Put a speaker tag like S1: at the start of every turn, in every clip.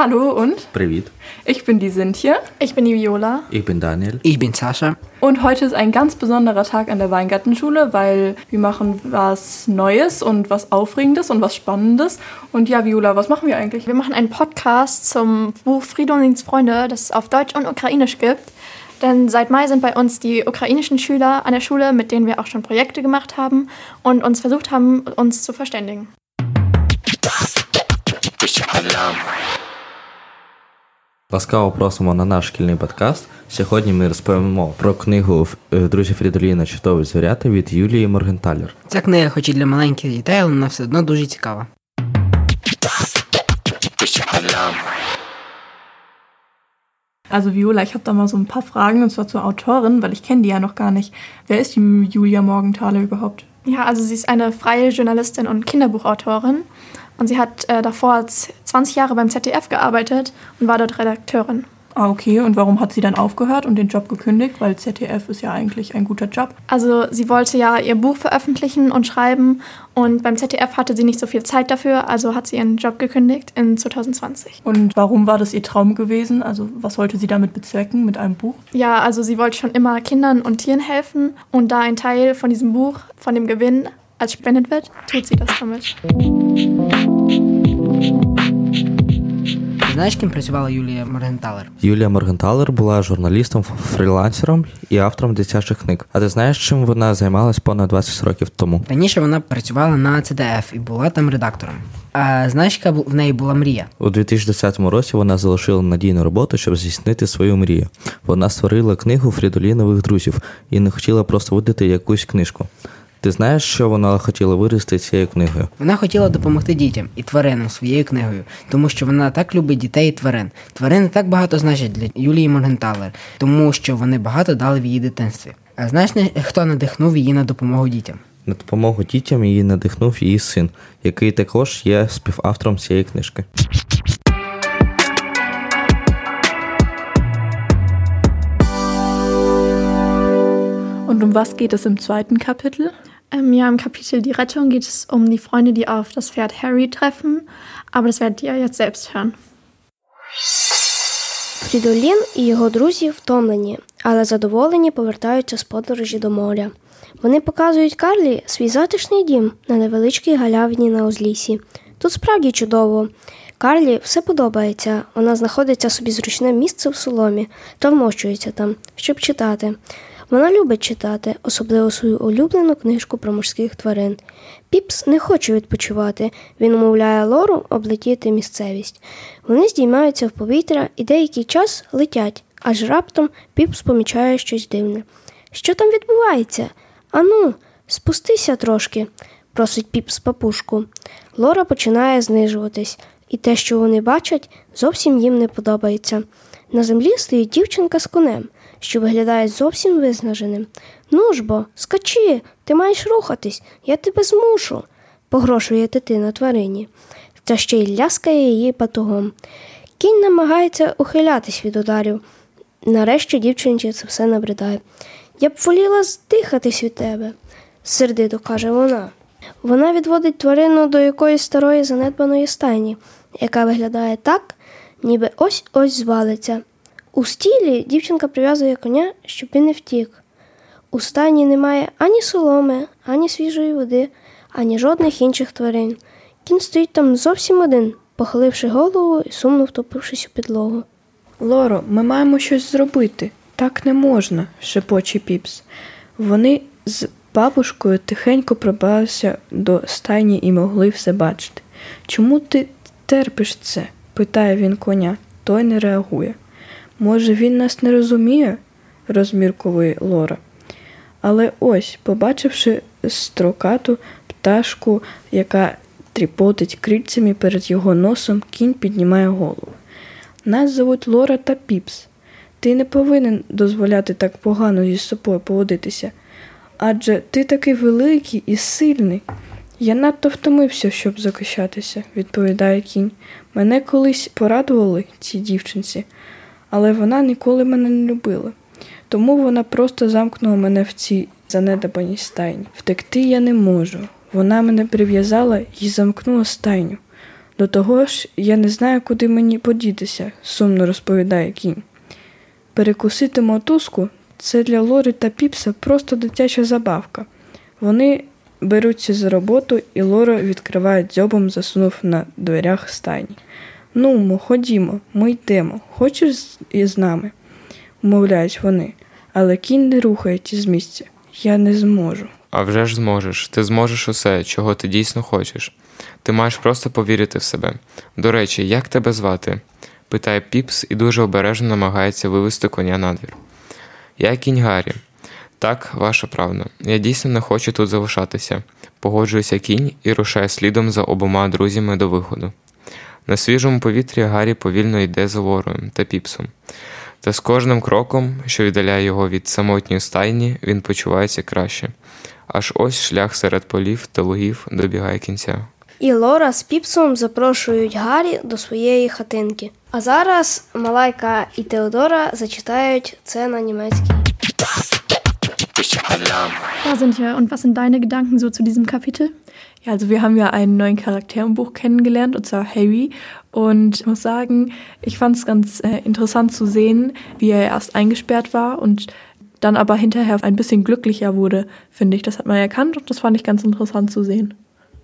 S1: Hallo und?
S2: Привет.
S1: Ich bin die Sintje.
S3: Ich bin die Viola.
S2: Ich bin Daniel.
S4: Ich bin Sascha.
S1: Und heute ist ein ganz besonderer Tag an der Weingartenschule, weil wir machen was Neues und was Aufregendes und was Spannendes. Und ja, Viola, was machen wir eigentlich?
S3: Wir machen einen Podcast zum Buch Fridolins Freunde, das es auf Deutsch und Ukrainisch gibt. Denn seit Mai sind bei uns die ukrainischen Schüler an der Schule, mit denen wir auch schon Projekte gemacht haben und uns versucht haben, uns zu verständigen.
S2: Ласкаво просимо на наш шкільний подкаст. Сьогодні ми розповімо про книгу «Друзі Фрідоліна. Чудові звірята» від Юлії Моргенталер.
S4: Ця книга хоч і для маленьких дітей, але вона все одно дуже цікава.
S1: Also Viola, ich habe da mal so ein paar Fragen, und zwar zur Autorin, weil ich kenne die ja noch gar nicht. Wer ist die Julia Morgenthaler überhaupt?
S3: Ja, also sie ist eine freie Journalistin und Kinderbuchautorin. Und sie hat davor 20 Jahre beim ZDF gearbeitet und war dort Redakteurin.
S1: Ah, okay. Und warum hat sie dann aufgehört und den Job gekündigt? Weil ZDF ist ja eigentlich ein guter Job.
S3: Also sie wollte ja ihr Buch veröffentlichen und schreiben und beim ZDF hatte sie nicht so viel Zeit dafür, also hat sie ihren Job gekündigt in 2020.
S1: Und warum war das ihr Traum gewesen? Also was wollte sie damit bezwecken mit einem Buch?
S3: Ja, also sie wollte schon immer Kindern und Tieren helfen und da ein Teil von diesem Buch, von dem Gewinn als spendet wird, tut sie das damit.
S4: Знаєш, ким працювала Юлія Моргенталер?
S2: Юлія Моргенталер була журналістом, фрілансером і автором дитячих книг. А ти знаєш, чим вона займалась понад 20 років тому?
S4: Раніше вона працювала на ЦДФ і була там редактором. А знаєш, яка в неї була мрія?
S2: У 2010 році вона залишила надійну роботу, щоб здійснити свою мрію. Вона створила книгу «Фрідолінових друзів» і не хотіла просто видати якусь книжку. Ти знаєш, що вона хотіла вирости цією книгою?
S4: Вона хотіла допомогти дітям і тваринам своєю книгою, тому що вона так любить дітей і тварин. Тварини так багато значать для Юлії Моргенталер, тому що вони багато дали в її дитинстві. А знаєш, хто надихнув її на допомогу дітям?
S2: На допомогу дітям її надихнув її син, який також є співавтором цієї книжки.
S1: Und um was geht es im zweiten Kapitel?
S3: Ja, im Kapitel Die Rettung geht es um die Freunde, die auf das Pferd Harry treffen, aber das werdet ihr jetzt selbst hören.
S5: Фрідолін і його друзі втомлені, але задоволені повертаються з подорожі до моря. Вони показують Карлі свій затишний дім на невеличкій галявині на узліссі. Тут справді чудово. Карлі все подобається. Вона знаходиться собі зручне місце в соломі та вмощується там, щоб читати. Вона любить читати, особливо свою улюблену книжку про морських тварин. Піпс не хоче відпочивати. Він умовляє Лору облетіти місцевість. Вони здіймаються в повітря і деякий час летять, аж раптом Піпс помічає щось дивне. «Що там відбувається? Ану, спустися трошки», – просить Піпс папушку. Лора починає знижуватись, і те, що вони бачать, зовсім їм не подобається. На землі стоїть дівчинка з конем, що виглядає зовсім виснаженим. «Ну ж бо, скачи, ти маєш рухатись, я тебе змушу», – погрожує дитина тварині. Та ще й ляскає її батогом. Кінь намагається ухилятись від ударів. Нарешті дівчинці це все набридає. «Я б воліла здихатись від тебе», – сердито каже вона. Вона відводить тварину до якоїсь старої занедбаної стайні, яка виглядає так, ніби ось-ось звалиться. У стілі дівчинка прив'язує коня, щоб він не втік. У стайні немає ані соломи, ані свіжої води, ані жодних інших тварин. Кінь стоїть там зовсім один, похиливши голову і сумно втопившись у підлогу.
S6: «Лоро, ми маємо щось зробити. Так не можна», – шепоче Піпс. Вони з бабушкою тихенько пробралися до стайні і могли все бачити. «Чому ти терпиш це?» – питає він коня. Той не реагує. «Може, він нас не розуміє?» – розмірковує Лора. Але ось, побачивши строкату пташку, яка тріпотить крильцями перед його носом, кінь піднімає голову. «Нас звуть Лора та Піпс. Ти не повинен дозволяти так погано зі собою поводитися. Адже ти такий великий і сильний». «Я надто втомився, щоб захищатися», – відповідає кінь. «Мене колись порадували ці дівчинці, але вона ніколи мене не любила. Тому вона просто замкнула мене в цій занедбаній стайні. Втекти я не можу. Вона мене прив'язала і замкнула стайню. До того ж, я не знаю, куди мені подітися, сумно розповідає кінь. Перекусити мотузку – це для Лори та Піпса просто дитяча забавка. Вони беруться за роботу, і Лора відкриває дзьобом, засунув на дверях стайні. «Ну, ходімо, ми йдемо. Хочеш із нами?» – умовляють вони. Але кінь не рухається з місця. «Я не зможу».
S7: А вже ж зможеш. Ти зможеш усе, чого ти дійсно хочеш. Ти маєш просто повірити в себе. До речі, як тебе звати? Питає Піпс і дуже обережно намагається вивести коня на двір. Я кінь Гаррі. Так, ваша правда. Я дійсно не хочу тут залишатися. Погоджується кінь і рушає слідом за обома друзями до виходу. На свіжому повітрі Гаррі повільно йде за Лорою та Піпсом. Та з кожним кроком, що віддаляє його від самотньої стайні, він почувається краще. Аж ось шлях серед полів та лугів добігає кінця.
S5: І Лора з Піпсом запрошують Гаррі до своєї хатинки. А зараз Малайка і Теодора зачитають це на німецькій.
S3: Ja, Cynthia, und was sind deine Gedanken so zu diesem Kapitel?
S1: Ja, also wir haben ja einen neuen Charakter im Buch kennengelernt, und zwar Harry. Und ich muss sagen, ich fand es ganz interessant zu sehen, wie er erst eingesperrt war und dann aber hinterher ein bisschen glücklicher wurde, finde ich. Das hat man erkannt und das fand ich ganz interessant zu sehen.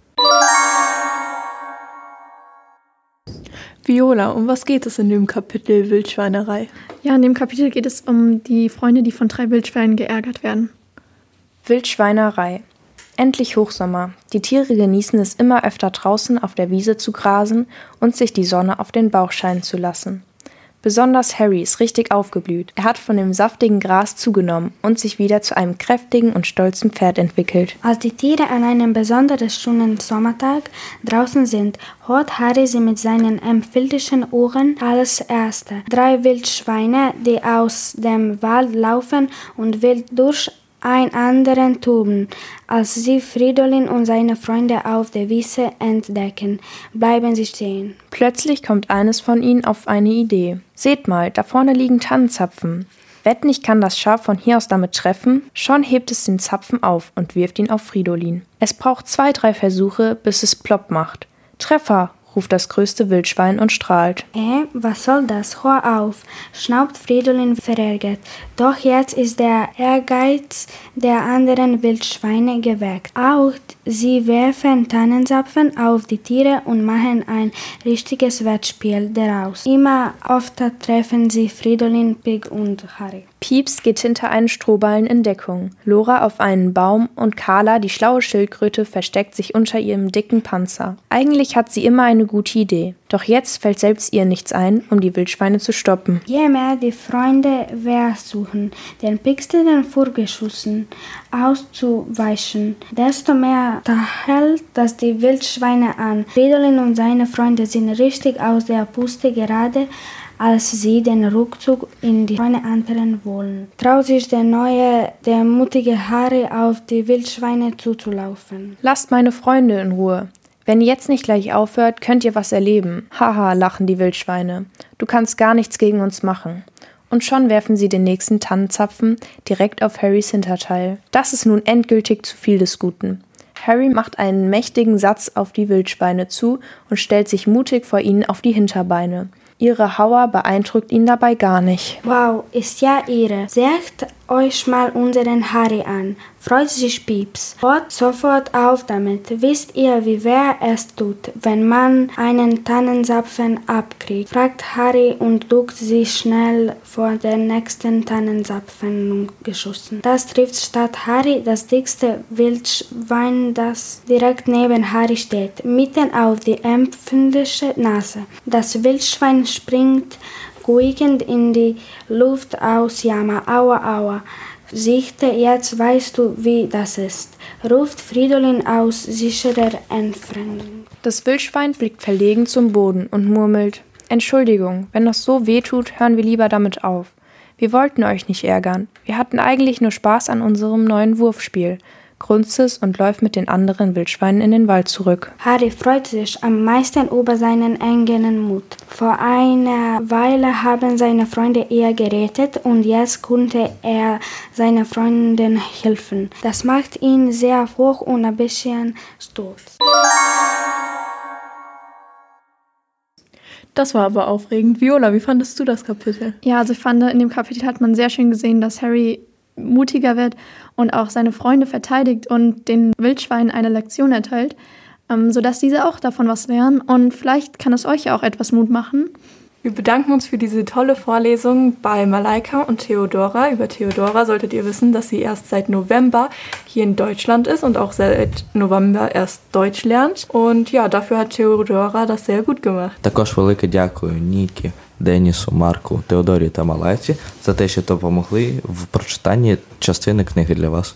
S1: Viola, um was geht es in dem Kapitel Wildschweinerei?
S3: Ja, in dem Kapitel geht es um die Freunde, die von 3 Wildschweinen geärgert werden.
S8: Wildschweinerei. Endlich Hochsommer. Die Tiere genießen es immer öfter draußen auf der Wiese zu grasen und sich die Sonne auf den Bauch scheinen zu lassen. Besonders Harry ist richtig aufgeblüht. Er hat von dem saftigen Gras zugenommen und sich wieder zu einem kräftigen und stolzen Pferd entwickelt.
S9: Als die Tiere an einem besonders schönen Sommertag draußen sind, hört Harry sie mit seinen empfindlichen Ohren als Erste. 3 Wildschweine, die aus dem Wald laufen und wild durch einen anderen toben. Als sie Fridolin und seine Freunde auf der Wiese entdecken, bleiben sie stehen.
S8: Plötzlich kommt eines von ihnen auf eine Idee. Seht mal, da vorne liegen Tannenzapfen. Wetten, ich kann das Schaf von hier aus damit treffen? Schon hebt es den Zapfen auf und wirft ihn auf Fridolin. Es braucht 2, 3 Versuche, bis es plopp macht. Treffer, ruft das größte Wildschwein und strahlt.
S9: Was soll das? Hör auf, schnaubt Fridolin verärgert. Doch jetzt ist der Ehrgeiz der anderen Wildschweine geweckt. Auch sie werfen Tannenzapfen auf die Tiere und machen ein richtiges Wettspiel daraus. Immer öfter treffen sie Fridolin, Pig und Harry.
S8: Pieps geht hinter einen Strohballen in Deckung, Lora auf einen Baum und Carla, die schlaue Schildkröte, versteckt sich unter ihrem dicken Panzer. Eigentlich hat sie immer eine gute Idee, doch jetzt fällt selbst ihr nichts ein, um die Wildschweine zu stoppen.
S9: Je mehr die Freunde versuchen, den Pixeln vorgeschossen auszuweichen, desto mehr hält das die Schweine an. Fridolin und seine Freunde sind richtig aus der Puste gerade, als sie den Rückzug in die Scheune antreten wollen. Traut sich der mutige Harry auf die Wildschweine zuzulaufen.
S8: Lasst meine Freunde in Ruhe. Wenn ihr jetzt nicht gleich aufhört, könnt ihr was erleben. Haha, lachen die Wildschweine. Du kannst gar nichts gegen uns machen. Und schon werfen sie den nächsten Tannenzapfen direkt auf Harrys Hinterteil. Das ist nun endgültig zu viel des Guten. Harry macht einen mächtigen Satz auf die Wildschweine zu und stellt sich mutig vor ihnen auf die Hinterbeine. Ihre Hauer beeindruckt ihn dabei gar nicht.
S9: Wow, ist ja irre. Seht euch mal unseren Harry an, freut sich Pieps. Hört sofort auf damit. Wisst ihr, wie weh es tut, wenn man einen Tannenzapfen abkriegt? Fragt Harry und duckt sich schnell vor den nächsten Tannenzapfen geschossen. Das trifft statt Harry das dickste Wildschwein, das direkt neben Harry steht, mitten auf die empfindliche Nase. Das Wildschwein springt quiekend in die Luft aus Jammer. Aua, aua. Sichte, jetzt weißt du, wie das ist, ruft Fridolin aus sicherer Entfernung.
S8: Das Wildschwein blickt verlegen zum Boden und murmelt: Entschuldigung, wenn das so weh tut, hören wir lieber damit auf. Wir wollten euch nicht ärgern. Wir hatten eigentlich nur Spaß an unserem neuen Wurfspiel. Grunzt es und läuft mit den anderen Wildschweinen in den Wald zurück.
S9: Harry freut sich am meisten über seinen eigenen Mut. Vor einer Weile haben seine Freunde ihn gerettet und jetzt konnte er seiner Freundin helfen. Das macht ihn sehr hoch und ein bisschen stolz.
S1: Das war aber aufregend. Viola, wie fandest du das Kapitel?
S3: Ja, also ich fand, in dem Kapitel hat man sehr schön gesehen, dass Harry mutiger wird und auch seine Freunde verteidigt und den Wildschweinen eine Lektion erteilt, sodass diese auch davon was lernen. Und vielleicht kann es euch ja auch etwas Mut machen.
S1: Wir bedanken uns für diese tolle Vorlesung bei Malaika und Theodora. Über Theodora solltet ihr wissen, dass sie erst seit November hier in Deutschland ist und auch seit November erst Deutsch lernt. Und ja, dafür hat Theodora das sehr gut gemacht.
S2: Також велике дякую Нікі, Денісу, Марку, Теодорі та Малайці за те, що допомогли в прочитанні частини книги для вас.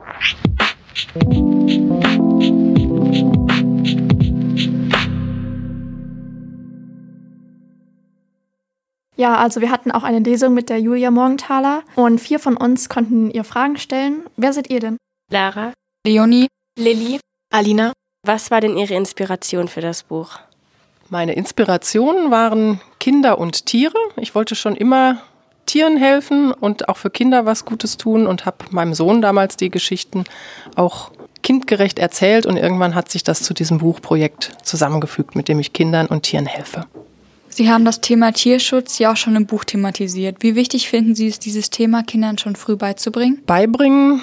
S3: Ja, also wir hatten auch eine Lesung mit der Julia Morgenthaler und 4 von uns konnten ihr Fragen stellen. Wer seid ihr denn?
S10: Lara,
S11: Leonie,
S10: Lilly,
S11: Alina.
S10: Was war denn Ihre Inspiration für das Buch?
S12: Meine Inspirationen waren Kinder und Tiere. Ich wollte schon immer Tieren helfen und auch für Kinder was Gutes tun und habe meinem Sohn damals die Geschichten auch kindgerecht erzählt und irgendwann hat sich das zu diesem Buchprojekt zusammengefügt, mit dem ich Kindern und Tieren helfe.
S11: Sie haben das Thema Tierschutz ja auch schon im Buch thematisiert. Wie wichtig finden Sie es, dieses Thema Kindern schon früh beizubringen?
S12: Beibringen,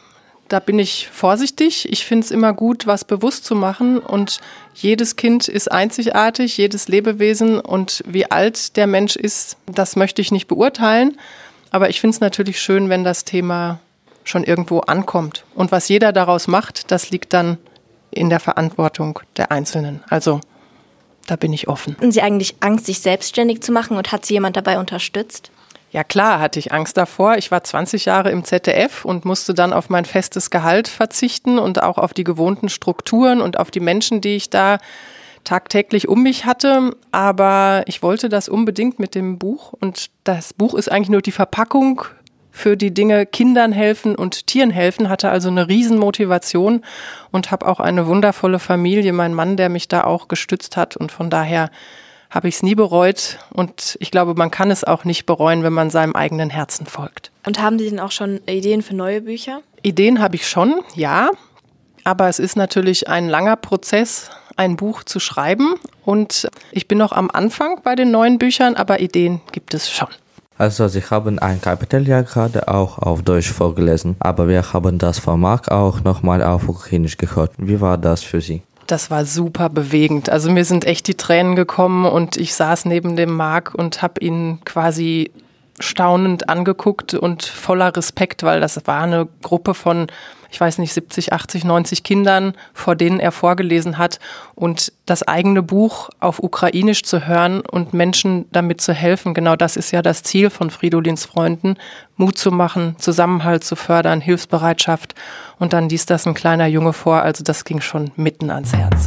S12: da bin ich vorsichtig. Ich finde es immer gut, was bewusst zu machen. Und jedes Kind ist einzigartig, jedes Lebewesen. Und wie alt der Mensch ist, das möchte ich nicht beurteilen. Aber ich finde es natürlich schön, wenn das Thema schon irgendwo ankommt. Und was jeder daraus macht, das liegt dann in der Verantwortung der Einzelnen. Also da bin ich offen.
S10: Hatten Sie eigentlich Angst, sich selbstständig zu machen und hat Sie jemand dabei unterstützt?
S12: Ja klar, hatte ich Angst davor. Ich war 20 Jahre im ZDF und musste dann auf mein festes Gehalt verzichten und auch auf die gewohnten Strukturen und auf die Menschen, die ich da tagtäglich um mich hatte. Aber ich wollte das unbedingt mit dem Buch. Und das Buch ist eigentlich nur die Verpackung für die Dinge Kindern helfen und Tieren helfen, hatte also eine Riesenmotivation und habe auch eine wundervolle Familie, mein Mann, der mich da auch gestützt hat und von daher habe ich es nie bereut und ich glaube, man kann es auch nicht bereuen, wenn man seinem eigenen Herzen folgt.
S10: Und haben Sie denn auch schon Ideen für neue Bücher?
S12: Ideen habe ich schon, ja, aber es ist natürlich ein langer Prozess, ein Buch zu schreiben und ich bin noch am Anfang bei den neuen Büchern, aber Ideen gibt es schon.
S2: Also Sie haben ein Kapitel ja gerade auch auf Deutsch vorgelesen, aber wir haben das von Marc auch nochmal auf Ukrainisch gehört. Wie war das für Sie?
S12: Das war super bewegend. Also mir sind echt die Tränen gekommen und ich saß neben dem Marc und habe ihn quasi staunend angeguckt und voller Respekt, weil das war eine Gruppe von, ich weiß nicht, 70, 80, 90 Kindern, vor denen er vorgelesen hat. Und das eigene Buch auf Ukrainisch zu hören und Menschen damit zu helfen, genau das ist ja das Ziel von Fridolins Freunden, Mut zu machen, Zusammenhalt zu fördern, Hilfsbereitschaft. Und dann liest das ein kleiner Junge vor, also das ging schon mitten ans Herz.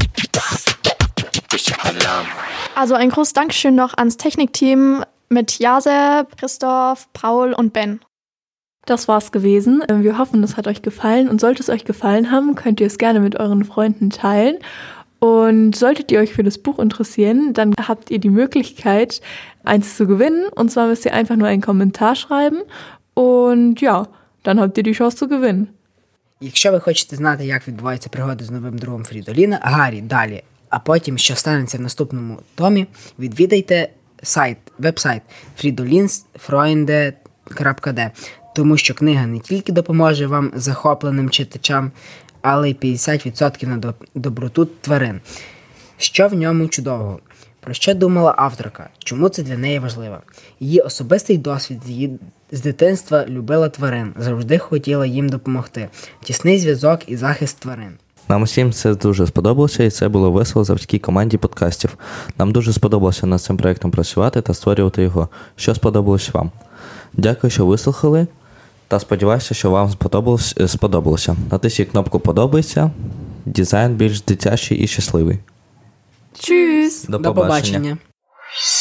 S3: Also ein großes Dankeschön noch ans Technikteam mit Jaseb, Christoph, Paul und Ben.
S1: Das war's gewesen. Wir hoffen, es hat euch gefallen und sollte es euch gefallen haben, könnt ihr es gerne mit euren Freunden teilen. Und solltet ihr euch für das Buch interessieren, dann habt ihr die Möglichkeit, eins zu gewinnen. Und zwar müsst ihr einfach nur einen Kommentar schreiben und ja, dann habt ihr die Chance zu gewinnen.
S4: Якщо ви хочете знати, як відбуваються пригоди з новим другом Фрідоліна, Гаррі, далі, а потім, що станеться в наступному томі, відвідайте веб-сайт fridolinsfreunde.de, тому що книга не тільки допоможе вам захопленим читачам, але й 50% на доброту тварин. Що в ньому чудового? Про що думала авторка? Чому це для неї важливо? Її особистий досвід з дитинства любила тварин, завжди хотіла їм допомогти. Тісний зв'язок і захист тварин.
S2: Нам усім це дуже сподобалося, і це було весело завдяки команді подкастів. Нам дуже сподобалося над цим проєктом працювати та створювати його. Що сподобалось вам? Дякую, що вислухали, та сподіваюся, що вам сподобалося. Натисніть кнопку «Подобається», дизайн більш дитячий і щасливий.
S3: Tschüss!
S2: До побачення.